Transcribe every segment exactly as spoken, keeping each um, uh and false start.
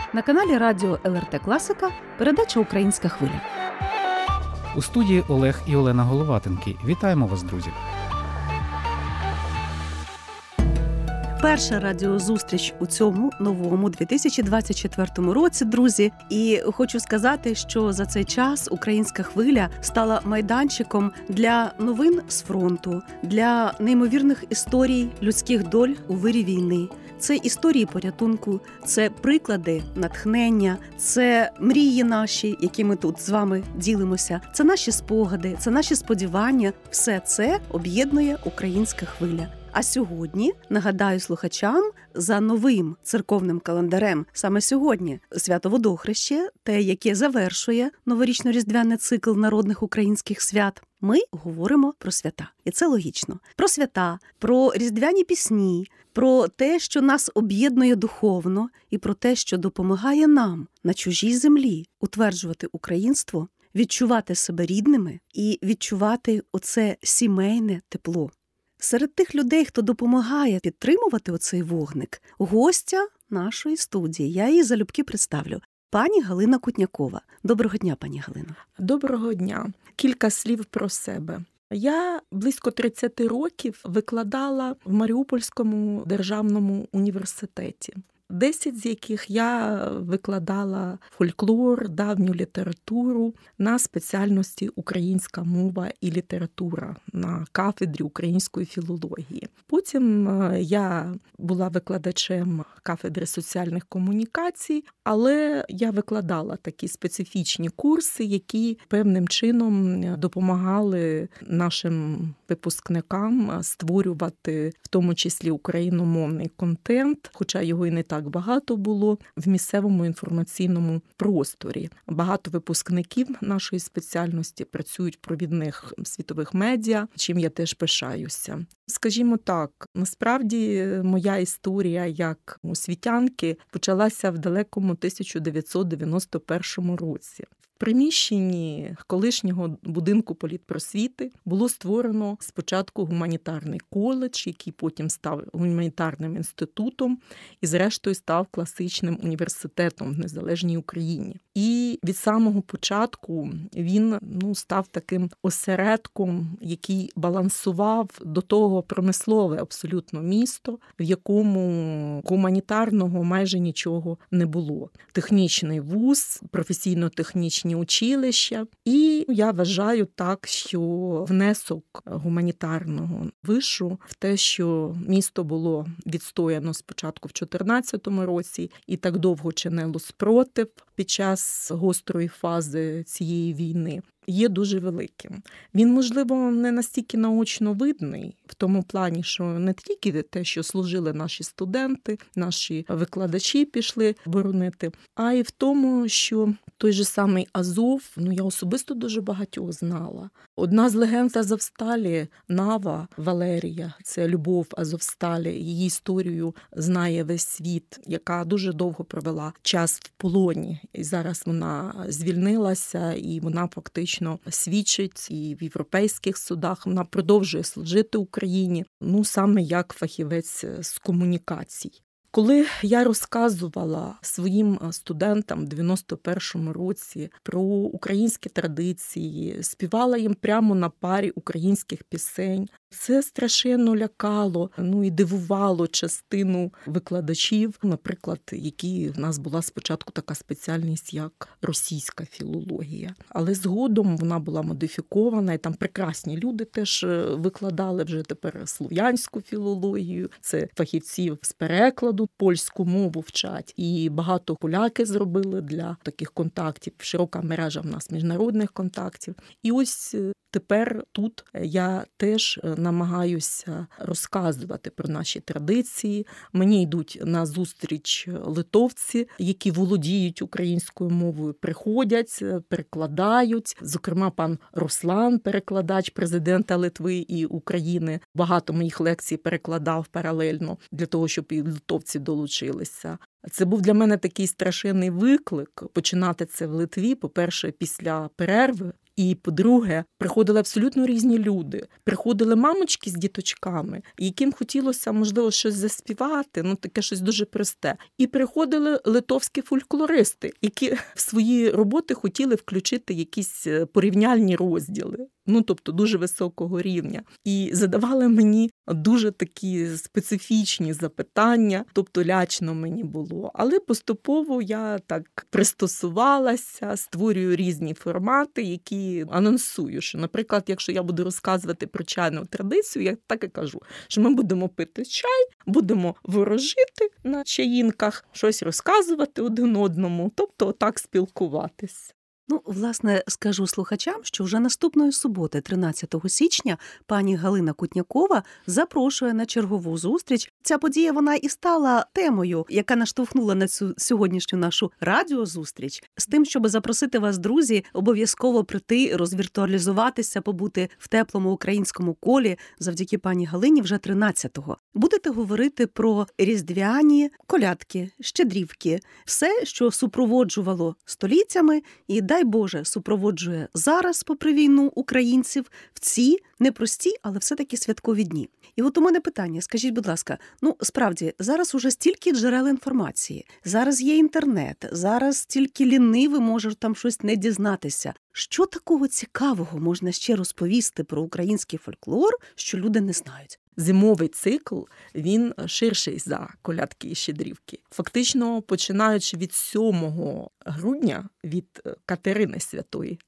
На каналі Радіо ел ер те Класика передача «Українська хвиля». У студії Олег і Олена Головатенки. Вітаємо вас, друзі! Перша радіозустріч у цьому новому дві тисячі двадцять четвертому році, друзі. І хочу сказати, що за цей час «Українська хвиля» стала майданчиком для новин з фронту, для неймовірних історій людських доль у вирі війни. Це історії порятунку, це приклади натхнення, це мрії наші, які ми тут з вами ділимося, це наші спогади, це наші сподівання. Все це об'єднує «Українська хвиля». А сьогодні, нагадаю слухачам, за новим церковним календарем, саме сьогодні, свято Водохреще, те, яке завершує новорічно-різдвяний цикл народних українських свят, ми говоримо про свята. І це логічно. Про свята, про різдвяні пісні, про те, що нас об'єднує духовно, і про те, що допомагає нам на чужій землі утверджувати українство, відчувати себе рідними і відчувати оце сімейне тепло. Серед тих людей, хто допомагає підтримувати оцей вогник, гостя нашої студії. Я її залюбки представлю. Пані Галина Кутнякова. Доброго дня, пані Галино. Доброго дня. Кілька слів про себе. Я близько тридцять років викладала в Маріупольському державному університеті. Десять з яких я викладала фольклор, давню літературу на спеціальності «Українська мова і література» на кафедрі української філології. Потім я була викладачем кафедри соціальних комунікацій, але я викладала такі специфічні курси, які певним чином допомагали нашим випускникам створювати в тому числі україномовний контент, хоча його і не так багато було в місцевому інформаційному просторі. Багато випускників нашої спеціальності працюють в провідних світових медіа, чим я теж пишаюся. Скажімо так, насправді моя історія як освітянки почалася в далекому тисяча дев'ятсот дев'яносто першому році. В приміщенні колишнього будинку політпросвіти було створено спочатку гуманітарний коледж, який потім став гуманітарним інститутом і зрештою став класичним університетом в незалежній Україні. І від самого початку він ну, став таким осередком, який балансував до того промислове абсолютно місто, в якому гуманітарного майже нічого не було. Технічний вуз, професійно-технічні училища. І я вважаю так, що внесок гуманітарного вишу в те, що місто було відстояно спочатку в чотирнадцятому році і так довго чинило спротив під час гострої фази цієї війни, є дуже великим. Він, можливо, не настільки наочно видний, в тому плані, що не тільки те, що служили наші студенти, наші викладачі пішли боронити, а й в тому, що той же самий Азов, ну я особисто дуже багатьох знала. Одна з легенд Азовсталі, Нава Валерія, це Любов Азовсталі, її історію знає весь світ, яка дуже довго провела час в полоні. І зараз вона звільнилася, і вона фактично свідчить і в європейських судах, вона продовжує служити Україні, ну саме як фахівець з комунікацій. Коли я розказувала своїм студентам в дев'яносто першому році про українські традиції, співала їм прямо на парі українських пісень, це страшенно лякало, ну і дивувало частину викладачів, наприклад, які в нас була спочатку така спеціальність, як російська філологія. Але згодом вона була модифікована, і там прекрасні люди теж викладали вже тепер слов'янську філологію, це фахівців з перекладу, польську мову вчать. І багато поляки зробили для таких контактів, широка мережа в нас міжнародних контактів. І ось тепер тут я теж намагаюся розказувати про наші традиції. Мені йдуть на зустріч литовці, які володіють українською мовою, приходять, перекладають. Зокрема, пан Руслан, перекладач президента Литви і України, багато моїх лекцій перекладав паралельно для того, щоб і литовці долучилися. Це був для мене такий страшенний виклик починати це в Литві, по-перше, після перерви І, по-друге, приходили абсолютно різні люди. Приходили мамочки з діточками, яким хотілося, можливо, щось заспівати, ну таке щось дуже просте. І приходили литовські фольклористи, які в свої роботи хотіли включити якісь порівняльні розділи. Ну, тобто, дуже високого рівня. І задавали мені дуже такі специфічні запитання, тобто лячно мені було. Але поступово я так пристосувалася, створюю різні формати, які анонсую, що, наприклад, якщо я буду розказувати про чайну традицію, я так і кажу, що ми будемо пити чай, будемо ворожити на чаїнках, щось розказувати один одному, тобто так спілкуватись. Ну, власне, скажу слухачам, що вже наступної суботи, тринадцятого січня, пані Галина Кутнякова запрошує на чергову зустріч. Ця подія, вона і стала темою, яка наштовхнула на цю сьогоднішню нашу радіозустріч, з тим, щоб запросити вас, друзі, обов'язково прийти, розвіртуалізуватися, побути в теплому українському колі завдяки пані Галині вже тринадцятого. Будете говорити про різдвяні колядки, щедрівки, все, що супроводжувало століттями і, дай Боже, супроводжує зараз, попри війну, українців в ці непрості, але все-таки святкові дні. І от у мене питання, скажіть, будь ласка, ну, справді, зараз уже стільки джерел інформації, зараз є інтернет, зараз стільки лінивий може там щось не дізнатися. Що такого цікавого можна ще розповісти про український фольклор, що люди не знають? Зимовий цикл, він ширший за колядки і щедрівки. Фактично, починаючи від сьомого грудня, від Катерини Святої,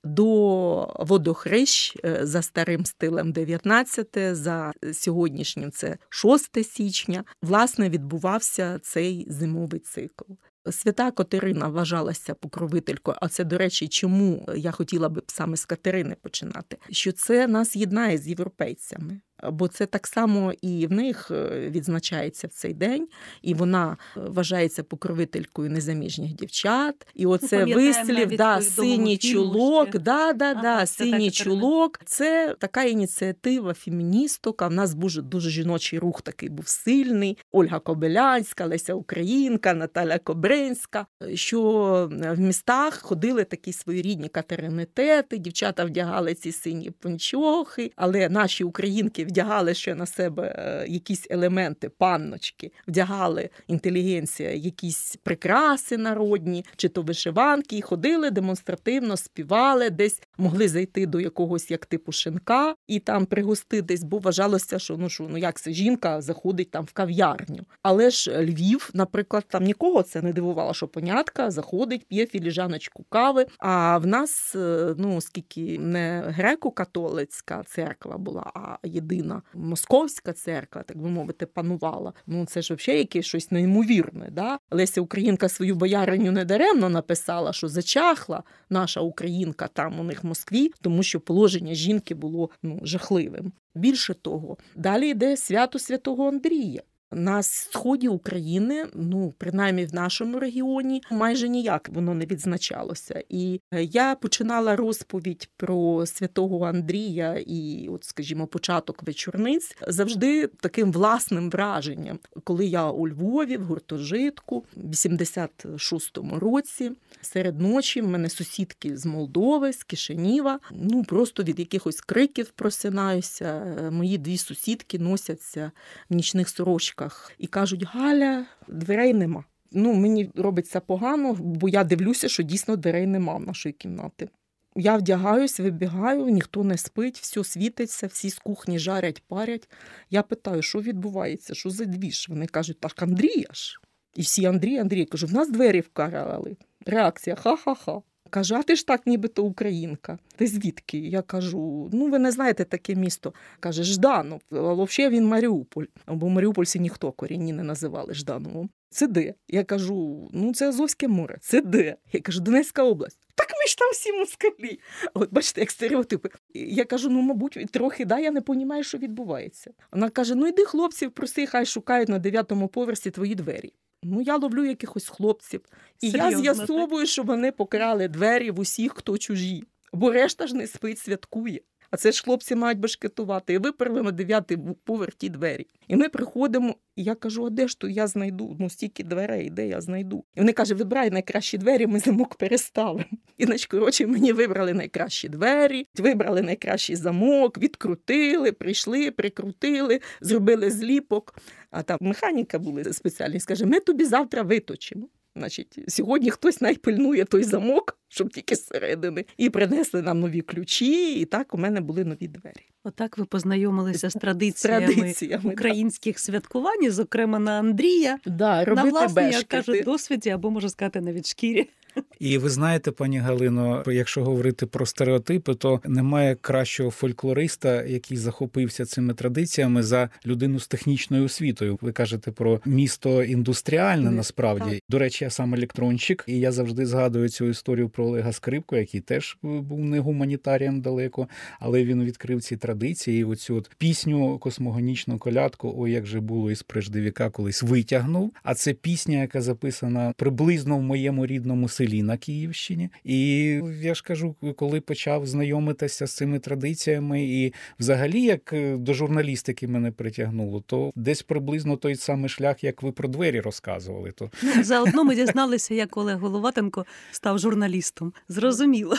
до водохрещ за старим стилем дев'ятнадцяте, за сьогоднішнім це шосте січня, власне, відбувався цей зимовий цикл. Свята Катерина вважалася покровителькою, а це, до речі, чому я хотіла би саме з Катерини починати, що це нас єднає з європейцями. Бо це так само і в них відзначається в цей день, і вона вважається покровителькою незаміжніх дівчат. І оце ну, вислів, да, синій чулок, да, да, ага, да, синій чулок. Це така ініціатива феміністок. В нас дуже, дуже жіночий рух такий був сильний. Ольга Кобилянська, Леся Українка, Наталя Кобринська, що в містах ходили такі своєрідні катеринитети, дівчата вдягали ці сині панчохи, але наші українки вдягали ще на себе якісь елементи, панночки, вдягали інтелігенція якісь прикраси народні, чи то вишиванки, і ходили демонстративно, співали, десь могли зайти до якогось як типу шинка і там пригоститись, бо вважалося, що ну, що, ну як це жінка заходить там в кав'ярню. Але ж Львів, наприклад, там нікого це не дивувало, що понятка заходить, п'є філіжаночку кави, а в нас, ну, оскільки не греко-католицька церква була, а єдина московська церква, так би мовити, панувала. Ну, це ж взагалі якесь щось неймовірне, да? Леся Українка свою бояриню недаремно написала, що зачахла наша українка там у них в Москві, тому що положення жінки було, ну, жахливим. Більше того, далі йде свято Святого Андрія. На сході України, ну, принаймні в нашому регіоні, майже ніяк воно не відзначалося. І я починала розповідь про Святого Андрія і, от, скажімо, початок вечорниць завжди таким власним враженням. Коли я у Львові, в гуртожитку, в вісімдесят шостому році, серед ночі в мене сусідки з Молдови, з Кишинєва, ну, просто від якихось криків просинаюся. Мої дві сусідки носяться в нічних сорочках і кажуть: Галя, дверей нема. Ну, мені робиться погано, бо я дивлюся, що дійсно дверей нема в нашої кімнати. Я вдягаюсь, вибігаю, ніхто не спить, все світиться, всі з кухні жарять, парять. Я питаю, що відбувається, що за двіж? Вони кажуть: так Андрія ж. І всі Андрій, Андрій. Я кажу: в нас двері вкарали. Реакція: ха-ха-ха. Каже: а ти ж так нібито українка. Ти звідки? Я кажу: ну ви не знаєте таке місто. Каже: Жданов. А взагалі він Маріуполь. Бо маріупольці ніхто корінні не називали Ждановим. Це де? Я кажу: ну це Азовське море. Це де? Я кажу: Донецька область. Так ми ж там всі москалі. От бачите, як стереотипи. Я кажу: ну, мабуть, трохи, да, я не розумію, що відбувається. Вона каже: ну йди хлопців, проси, хай шукають на дев'ятому поверсі твої двері. Ну, я ловлю якихось хлопців. І серйозно, я з'ясовую, так? Що вони покрали двері в усіх, хто чужі. Бо решта ж не спить, святкує. А це ж хлопці мають башкетувати. І виперли на дев'ятий поверх ті двері. І ми приходимо, і я кажу, а де ж то я знайду? Ну, стільки дверей, де я знайду? І вони кажуть, вибирай найкращі двері, ми замок переставимо. І, значить, коротше, мені вибрали найкращі двері, вибрали найкращий замок, відкрутили, прийшли, прикрутили, зробили зліпок. А там механіка були спеціальні, скаже, ми тобі завтра виточимо. Значить, сьогодні хтось найпильнує той замок, щоб тільки зсередини. І принесли нам нові ключі, і так у мене були нові двері. Отак ви познайомилися з традиціями, з традиціями українських да. святкувань, зокрема на Андрія, да, на власній, як кажуть, досвіді, або, можу сказати, навіть шкірі. І ви знаєте, пані Галино, якщо говорити про стереотипи, то немає кращого фольклориста, який захопився цими традиціями, за людину з технічною освітою. Ви кажете про місто індустріальне, насправді. Так. До речі, я сам електронщик, і я завжди згадую цю історію про Олега Скрипку, який теж був не гуманітарієм далеко, але він відкрив ці традиції, і оцю от пісню космогонічну колядку «Ой, як же було із преждевіка» колись витягнув. А це пісня, яка записана приблизно в моєму рідному селі на Київщині. І я ж кажу, коли почав знайомитися з цими традиціями і взагалі, як до журналістики мене притягнуло, то десь приблизно той самий шлях, як ви про двері розказували. То... Ну, заодно ми дізналися, як Олег Головатенко став журналістом. Зрозуміло.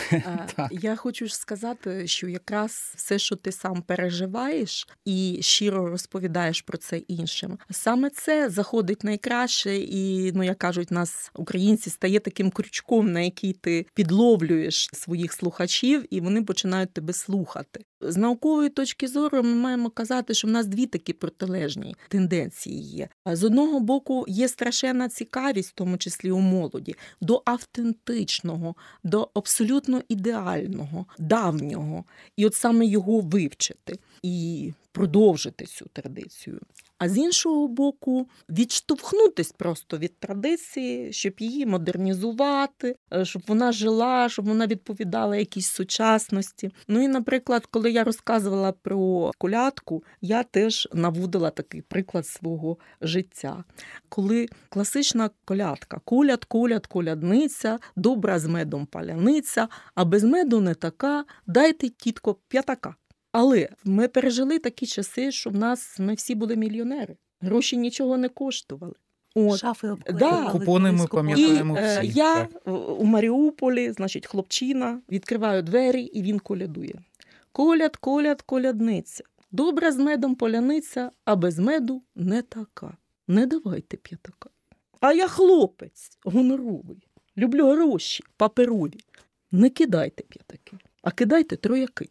Я хочу ж сказати, що якраз все, що ти сам переживаєш і щиро розповідаєш про це іншим, саме це заходить найкраще і, ну, як кажуть, нас, українці, стає таким крючком, на який ти підловлюєш своїх слухачів, і вони починають тебе слухати. З наукової точки зору ми маємо казати, що в нас дві такі протилежні тенденції є. З одного боку, є страшенна цікавість, в тому числі у молоді, до автентичного, до абсолютно ідеального, давнього. І от саме його вивчити і продовжити цю традицію. А з іншого боку, відштовхнутись просто від традиції, щоб її модернізувати, щоб вона жила, щоб вона відповідала якійсь сучасності. Ну і, наприклад, коли я розказувала про колядку, я теж наводила такий приклад свого життя. Коли класична колядка «Коляд, коляд, колядниця, добра з медом паляниця, а без меду не така, дайте, тітко, п'ятака». Але ми пережили такі часи, що в нас ми всі були мільйонери. Гроші нічого не коштували. От. Шафи обклеювали. Да. Купони ми пам'ятаємо всі. І я так. у Маріуполі, значить, хлопчина, відкриваю двері, і він колядує. «Коляд, коляд, колядниця, добра з медом поляниця, а без меду не така. Не давайте п'ятака». А я хлопець, гоноровий, люблю гроші, паперові. Не кидайте п'ятаки, а кидайте трояки.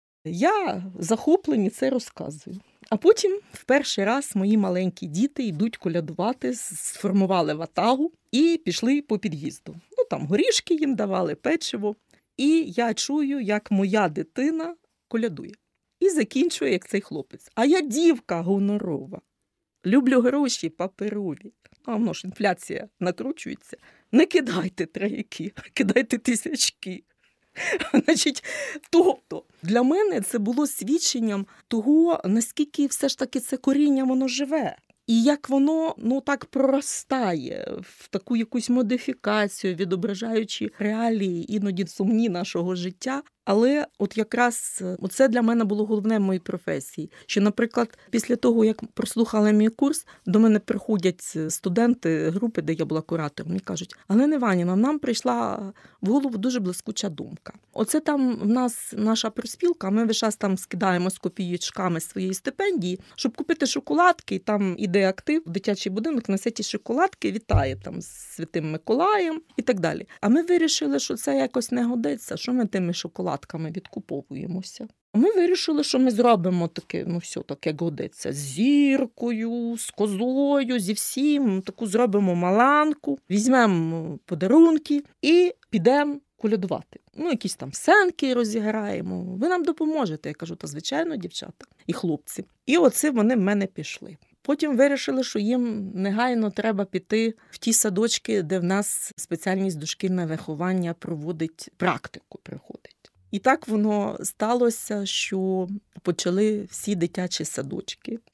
Я захоплені це розказую. А потім в перший раз мої маленькі діти йдуть колядувати, сформували ватагу і пішли по під'їзду. Ну, там горішки їм давали, печиво. І я чую, як моя дитина колядує. І закінчує, як цей хлопець. А я дівка гонорова. Люблю гроші паперові. А воно ж інфляція накручується. Не кидайте трояки, а кидайте тисячки. Значить, тобто, для мене це було свідченням того, наскільки все ж таки це коріння, воно живе. І як воно, ну, так проростає в таку якусь модифікацію, відображаючи реалії, іноді сумні нашого життя. Але от якраз це для мене було головне в моїй професії. Що, наприклад, після того, як прослухали мій курс, до мене приходять студенти групи, де я була куратором, і кажуть: Галина Іванівна, нам прийшла в голову дуже блискуча думка. Оце там в нас наша профспілка, ми весь час там скидаємось копієчками своєї стипендії, щоб купити шоколадки, і там іде актив, дитячий будинок несе ті шоколадки, вітає там з Святим Миколаєм і так далі. А ми вирішили, що це якось не годиться, що ми тими шоколадками відкуповуємося. Ми вирішили, що ми зробимо таке, ну все таке годиться, з зіркою, з козою, зі всім, таку зробимо маланку, візьмемо подарунки і підемо колядувати. Ну, якісь там сценки розіграємо. Ви нам допоможете. Я кажу, та звичайно, дівчата і хлопці. І оце вони в мене пішли. Потім вирішили, що їм негайно треба піти в ті садочки, де в нас спеціальність дошкільне виховання проводить, практику приходить. І так воно сталося, що почали всі дитячі садочки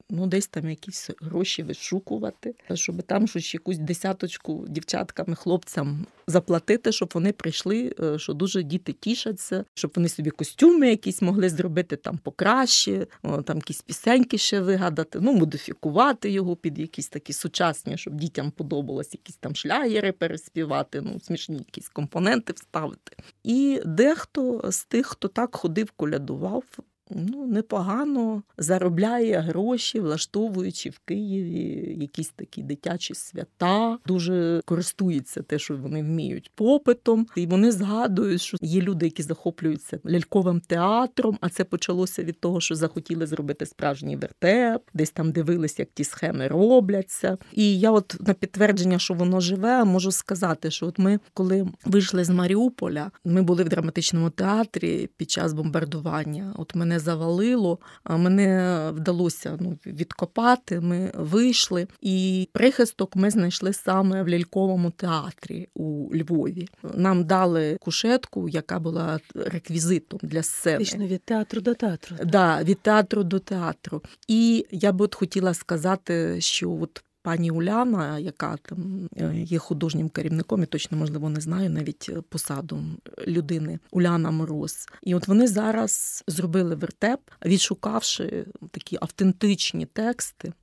ну, десь там якісь гроші вишукувати, щоб там щось якусь десяточку дівчаткам і хлопцям заплатити, щоб вони прийшли, що дуже діти тішаться, щоб вони собі костюми якісь могли зробити там покраще, там якісь пісеньки ще вигадати, ну, модифікувати його під якісь такі сучасні, щоб дітям подобалось, якісь там шлягери переспівати, ну, смішні якісь компоненти вставити. І дехто з тих, хто так ходив, колядував, ну, непогано заробляє гроші, влаштовуючи в Києві якісь такі дитячі свята. Дуже користується те, що вони вміють, попитом. І вони згадують, що є люди, які захоплюються ляльковим театром, а це почалося від того, що захотіли зробити справжній вертеп, десь там дивились, як ті схеми робляться. І я от на підтвердження, що воно живе, можу сказати, що от ми, коли вийшли з Маріуполя, ми були в драматичному театрі під час бомбардування. От мене завалило, а мене вдалося ну, відкопати, ми вийшли, і прихисток ми знайшли саме в ляльковому театрі у Львові. Нам дали кушетку, яка була реквізитом для сцени. Вічно від театру до театру. Да, від театру до театру. І я б от хотіла сказати, що от пані Уляна, яка там є художнім керівником, і точно, можливо, не знаю навіть посаду людини, Уляна Мороз. І от вони зараз зробили вертеп, відшукавши такі автентичні тексти.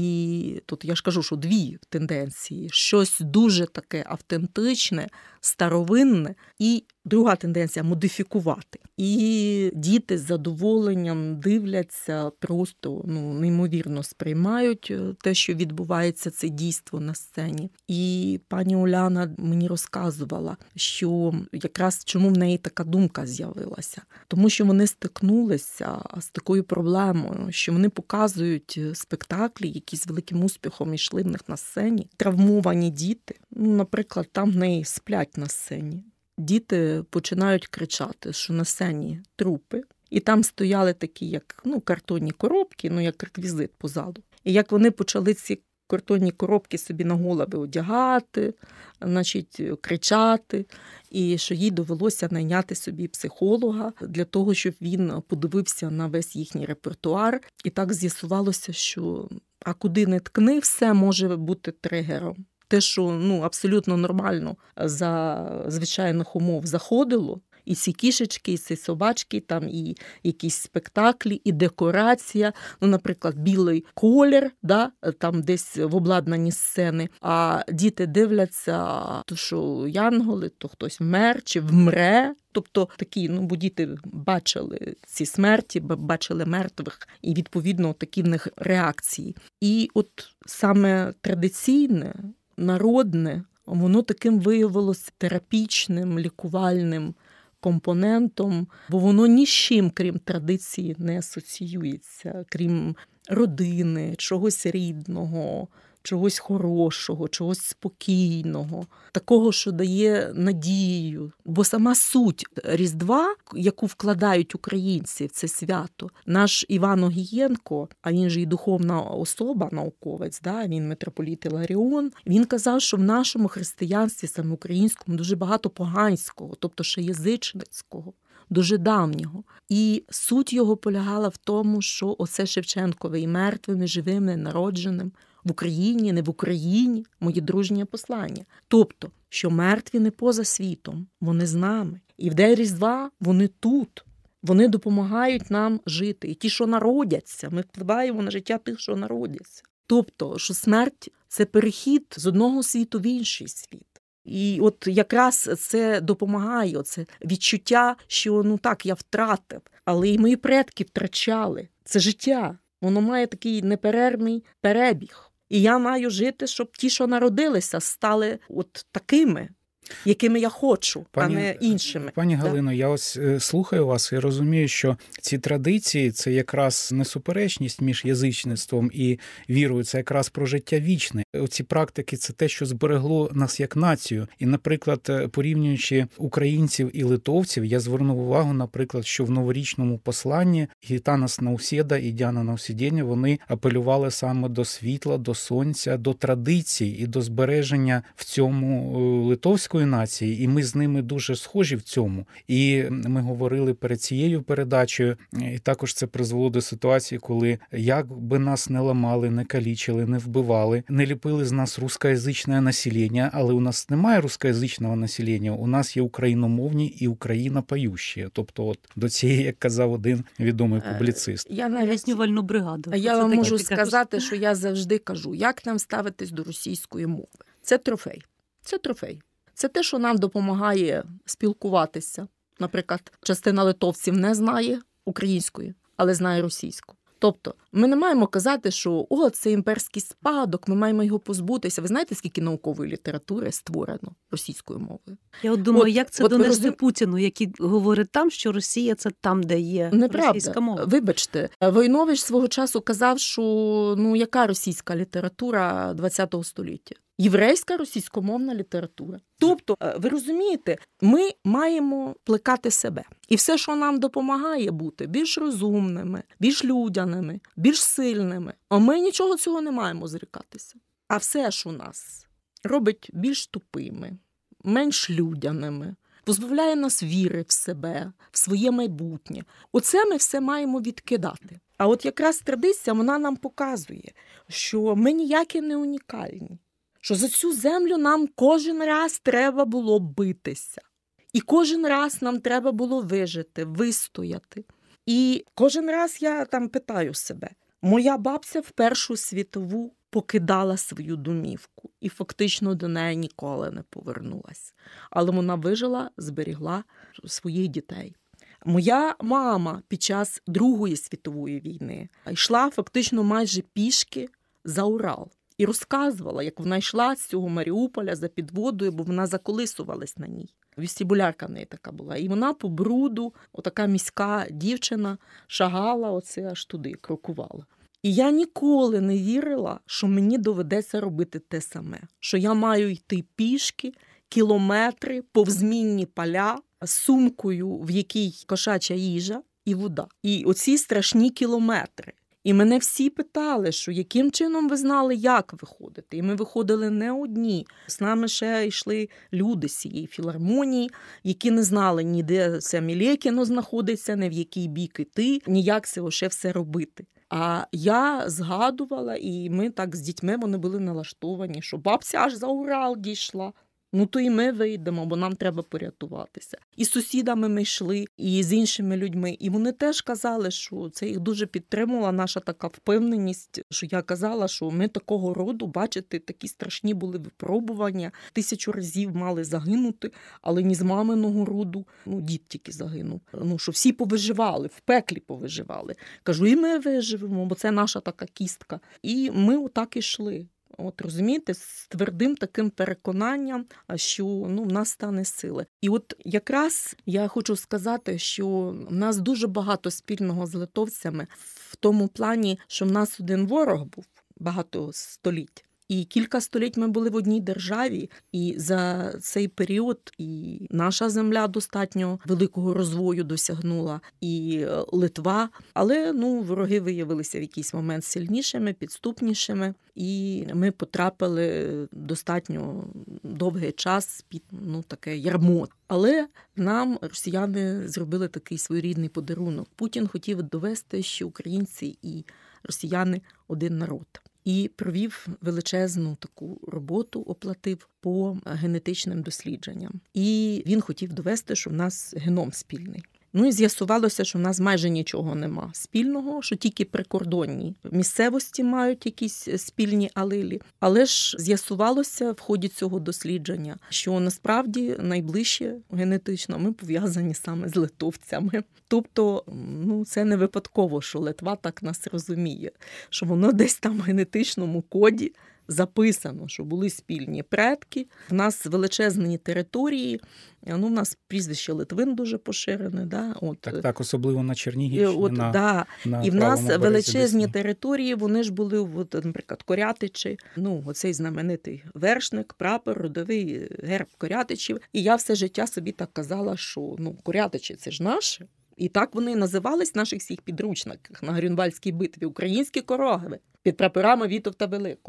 І тут я ж кажу, що дві тенденції. Щось дуже таке автентичне, старовинне, і друга тенденція – модифікувати. І діти з задоволенням дивляться, просто ну, неймовірно сприймають те, що відбувається, це дійство на сцені. І пані Уляна мені розказувала, що якраз чому в неї така думка з'явилася. Тому що вони стикнулися з такою проблемою, що вони показують спектаклі, які з великим успіхом йшли в них на сцені. Травмовані діти, ну, наприклад, там в неї сплять на сцені. Діти починають кричати, що на сцені трупи. І там стояли такі, як ну, картонні коробки, ну, як реквізит по залу. І як вони почали ці картонні коробки собі на голови одягати, значить, кричати, і що їй довелося найняти собі психолога для того, щоб він подивився на весь їхній репертуар. І так з'ясувалося, що а куди не ткни, все може бути тригером. Те, що ну, абсолютно нормально за звичайних умов заходило, і ці кішечки, і ці собачки, там і якісь спектаклі, і декорація, ну, наприклад, білий колір, да, там десь в обладнанні сцени, а діти дивляться, то що янголи, то хтось вмер чи вмре. Тобто такі, ну, бо діти бачили ці смерті, бачили мертвих, і, відповідно, такі в них реакції. І от саме традиційне, народне, воно таким виявилося терапічним, лікувальним компонентом, бо воно ні з чим, крім традиції, не асоціюється, крім родини, чогось рідного, чогось хорошого, чогось спокійного, такого, що дає надію. Бо сама суть Різдва, яку вкладають українці в це свято, наш Іван Огієнко, а він же і духовна особа, науковець, да, він митрополит Іларіон, він казав, що в нашому християнстві, саме українському, дуже багато поганського, тобто ще язичницького, дуже давнього. І суть його полягала в тому, що оце Шевченкове і мертвим, і живим, і народженим в Україні, не в Україні, моє дружнє послання. Тобто, що мертві не поза світом, вони з нами. І в день Різдва вони тут. Вони допомагають нам жити. І ті, що народяться, ми впливаємо на життя тих, що народяться. Тобто, що смерть – це перехід з одного світу в інший світ. І от якраз це допомагає, це відчуття, що ну так, я втратив, але і мої предки втрачали. Це життя, воно має такий неперервний перебіг. І я маю жити, щоб ті, що народилися, стали от такими, якими я хочу, пані, а не іншими. Пані да? Галино, я ось слухаю вас і розумію, що ці традиції – це якраз не суперечність між язичництвом і вірою, це якраз про життя вічне. Оці практики – це те, що зберегло нас як націю. І, наприклад, порівнюючи українців і литовців, я звернув увагу, наприклад, що в новорічному посланні Гітанас Наусєда і Діана Наусєдєня, вони апелювали саме до світла, до сонця, до традицій і до збереження в цьому литовської української нації, і ми з ними дуже схожі в цьому. І ми говорили перед цією передачею, і також це призвело до ситуації, коли як би нас не ламали, не калічили, не вбивали, не ліпили з нас рускоязичне населення, але у нас немає рускоязичного населення, у нас є україномовні і українопоющі. Тобто от до цієї, як казав один відомий публіцист. Я навіть Пояснювальну бригаду. Я Це вам таке, можу ти сказати, кажеш. що я завжди кажу, як нам ставитись до російської мови. Це трофей. Це трофей. Це те, що нам допомагає спілкуватися. Наприклад, частина литовців не знає української, але знає російську. Тобто, ми не маємо казати, що о, це імперський спадок, ми маємо його позбутися. Ви знаєте, скільки наукової літератури створено російською мовою? Я от думаю, От- як це от ви донести розум- Путіну, який говорить там, що Росія – це там, де є Неправда. російська мова. Вибачте, Войнович свого часу казав, що ну яка російська література ХХ століття? Єврейська російськомовна література. Тобто, ви розумієте, ми маємо плекати себе. І все, що нам допомагає бути більш розумними, більш людяними, більш сильними, а ми нічого цього не маємо зрікатися. А все, що нас робить більш тупими, менш людяними, позбавляє нас віри в себе, в своє майбутнє. Оце ми все маємо відкидати. А от якраз традиція, вона нам показує, що ми ніякі не унікальні. Що за цю землю нам кожен раз треба було битися. І кожен раз нам треба було вижити, вистояти. І кожен раз я там питаю себе, моя бабця в Першу світову покидала свою домівку і фактично до неї ніколи не повернулась. Але вона вижила, зберігла своїх дітей. Моя мама під час Другої світової війни йшла фактично майже пішки за Урал. І розказувала, як вона йшла з цього Маріуполя за підводою, бо вона заколисувалась на ній. Вестибулярка в неї така була. І вона по бруду, отака міська дівчина, шагала оце аж туди, крокувала. І я ніколи не вірила, що мені доведеться робити те саме. Що я маю йти пішки, кілометри, повзмінні поля, з сумкою, в якій кошача їжа і вода. І оці страшні кілометри. І мене всі питали, що яким чином ви знали, як виходити. І ми виходили не одні. З нами ще йшли люди з цієї філармонії, які не знали, ні де це Мілєкіно знаходиться, ні в який бік іти, ні як це ще все робити. А я згадувала, і ми так з дітьми вони були налаштовані, що бабця аж за Урал дійшла. Ну, то і ми вийдемо, бо нам треба порятуватися. І з сусідами ми йшли, і з іншими людьми. І вони теж казали, що це їх дуже підтримувала наша така впевненість, що я казала, що ми такого роду, бачите, такі страшні були випробування. Тисячу разів мали загинути, але ні з маминого роду, ну, дід тільки загинув. Ну, що всі повиживали, в пеклі повиживали. Кажу, і ми виживемо, бо це наша така кістка. І ми отак ішли. От, розумієте, з твердим таким переконанням, що ну, в нас стане сили. І от якраз я хочу сказати, що в нас дуже багато спільного з литовцями в тому плані, що в нас один ворог був багато століть. І кілька століть ми були в одній державі, і за цей період і наша земля достатньо великого розвою досягнула, і Литва. Але ну, вороги виявилися в якийсь момент сильнішими, підступнішими, і ми потрапили достатньо довгий час під ну, таке ярмо. Але нам росіяни зробили такий своєрідний подарунок. Путін хотів довести, що українці і росіяни – один народ. І провів величезну таку роботу, оплатив по генетичним дослідженням. І він хотів довести, що в нас геном спільний. Ну і з'ясувалося, що в нас майже нічого нема спільного, що тільки прикордонні місцевості мають якісь спільні алелі. Але ж з'ясувалося в ході цього дослідження, що насправді найближче генетично ми пов'язані саме з литовцями. Тобто, ну, це не випадково, що Литва так нас розуміє, що воно десь там в генетичному коді записано, що були спільні предки. В нас величезні території, ну, в нас прізвище Литвин дуже поширене. Да? От. Так, так, особливо на Чернігівщині. От, на, да. на І в нас величезні Десні. території, вони ж були, от, наприклад, Корятичі, ну, оцей знаменитий вершник, прапор, родовий герб Корятичів. І я все життя собі так казала, що ну, Корятичі – це ж наше. І так вони називались в наших всіх підручниках на Грюнвальдській битві – українські короги під прапорами Вітовта Великого.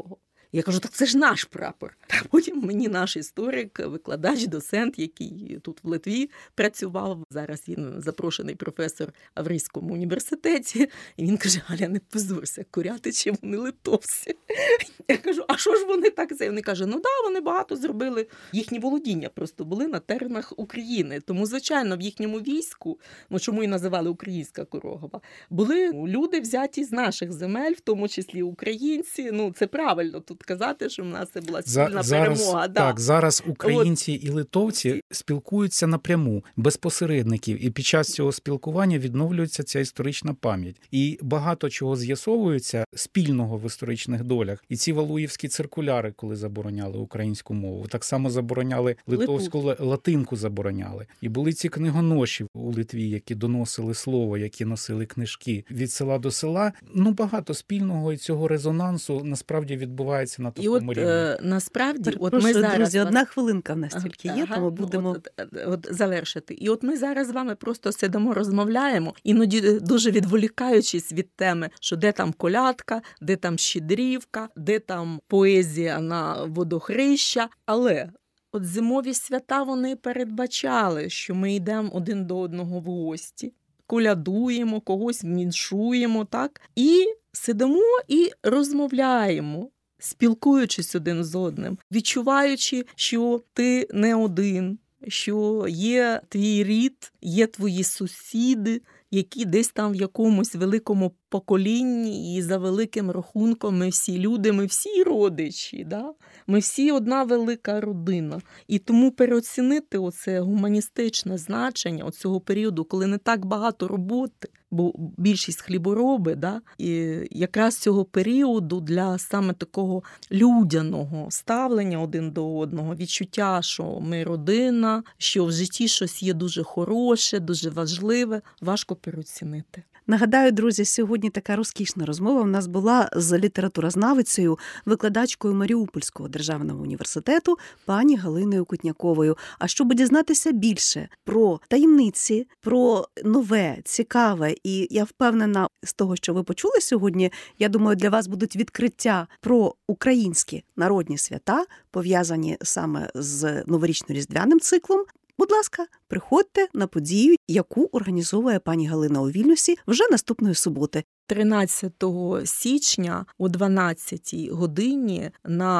Я кажу, так це ж наш прапор. А потім мені наш історик, викладач, доцент, який тут в Литві працював, зараз він запрошений професор в Аврійському університеті, і він каже, Галя, не позорся, корятичі вони литовці. Я кажу, а що ж вони так? Це? Вони кажуть, ну да, вони багато зробили. Їхні володіння просто були на теренах України. Тому, звичайно, в їхньому війську, ну чому і називали Українська Корогова, були люди взяті з наших земель, в тому числі українці. Ну, це правильно тут казати, що в нас це була спільна За, перемога. Зараз, да. Так, зараз українці От. і литовці спілкуються напряму, без посередників. І під час цього спілкування відновлюється ця історична пам'ять. І багато чого з'ясовується спільного в історичних долях. І ці валуївські циркуляри, коли забороняли українську мову, так само забороняли литовську Литу. латинку забороняли. І були ці книгоноші у Литві, які доносили слово, які носили книжки від села до села. Ну, багато спільного і цього резонансу насправді відбувається на такому рівні. І от е, насправді, от Прошу, ми зараз... друзі, одна хвилинка в нас тільки є, ага, тому будемо... От, от, от завершити. І от ми зараз з вами просто сидимо, розмовляємо, іноді дуже відволікаючись від теми, що де там колядка, де там щедрівка, де там поезія на водохреща, але... От зимові свята вони передбачали, що ми йдемо один до одного в гості, колядуємо, когось віншуємо, так? І сидимо і розмовляємо, спілкуючись один з одним, відчуваючи, що ти не один, що є твій рід, є твої сусіди, які десь там в якомусь великому поколінні і за великим рахунком ми всі люди, ми всі родичі, да? Ми всі одна велика родина. І тому переоцінити оце гуманістичне значення оцього періоду, коли не так багато роботи, бо більшість хлібороби, да? І якраз цього періоду для саме такого людяного ставлення один до одного, відчуття, що ми родина, що в житті щось є дуже хороше, дуже важливе, важко переоцінити. Нагадаю, друзі, сьогодні така розкішна розмова в нас була з літературознавицею, викладачкою Маріупольського державного університету пані Галиною Кутняковою. А щоб дізнатися більше про таємниці, про нове, цікаве, і я впевнена з того, що ви почули сьогодні, я думаю, для вас будуть відкриття про українські народні свята, пов'язані саме з новорічно-різдвяним циклом. Будь ласка, приходьте на подію, яку організовує пані Галина у Вільнюсі вже наступної суботи. тринадцятого січня о дванадцятій годині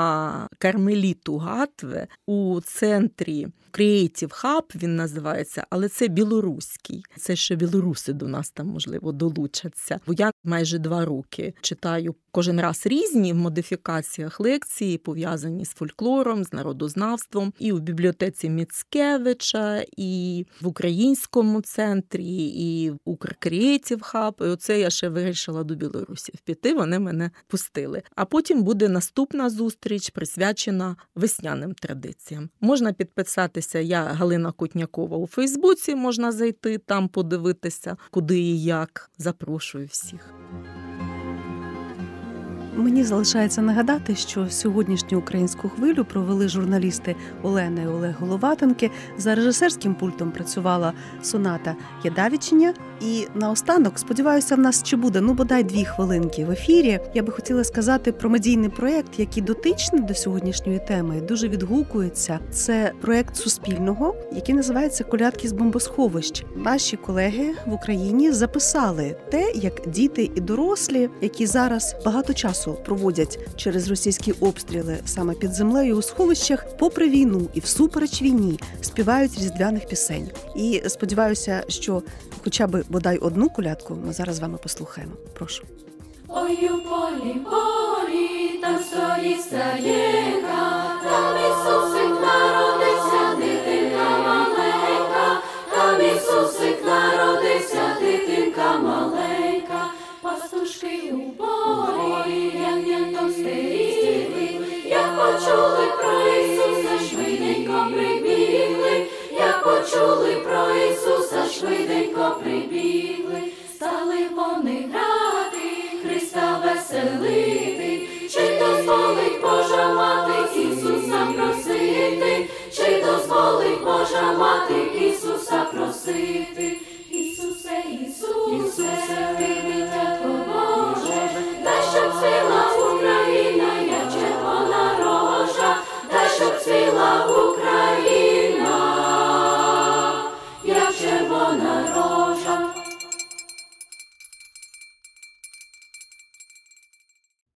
на Кармеліту Гатве у центрі Creative Hub, він називається, але це білоруський. Це ще білоруси до нас там, можливо, долучаться. Бо я майже два роки читаю кожен раз різні в модифікаціях лекції, пов'язані з фольклором, з народознавством. І в бібліотеці Міцкевича, і в українському центрі, і в Укркреатив Хаб. І оце я ще вирішила до Білорусі піти, вони мене пустили. А потім буде наступна зустріч, присвячена весняним традиціям. Можна підписатися, я Галина Кутнякова у Фейсбуці, можна зайти, там подивитися, куди і як. Запрошую всіх. Мені залишається нагадати, що сьогоднішню українську хвилю провели журналісти Олена і Олег Головатенки. За режисерським пультом працювала Соната Ядавіченя. І наостанок, сподіваюся, в нас ще буде, ну, бодай дві хвилинки в ефірі. Я би хотіла сказати про медійний проєкт, який дотичний до сьогоднішньої теми, дуже відгукується. Це проєкт Суспільного, який називається «Колядки з бомбосховищ». Наші колеги в Україні записали те, як діти і дорослі, які зараз багато часу проводять через російські обстріли саме під землею у сховищах, попри війну і всупереч війні, співають різдвяних пісень. І сподіваюся, що хоча б бодай одну колядку ми зараз з вами послухаємо. Прошу. Ой, у полі, полі, там стоїть стаєнка, там Ісусик народився, дитинка маленька, там Ісусик народився, дитинка маленька. Пастушки у полі, ягнятом стерігли, як почули про Ісуса, швиденько прибігли, як почули про Ісуса, швиденько прибігли. Стали вони грати, Христа веселити, чи дозволить Божа мати Ісуса просити, чи дозволить Божа мати Ісуса просити. Ісусе, Ісусе, ти дитятко Боже, дай щоб цвіла Україна, як червона вона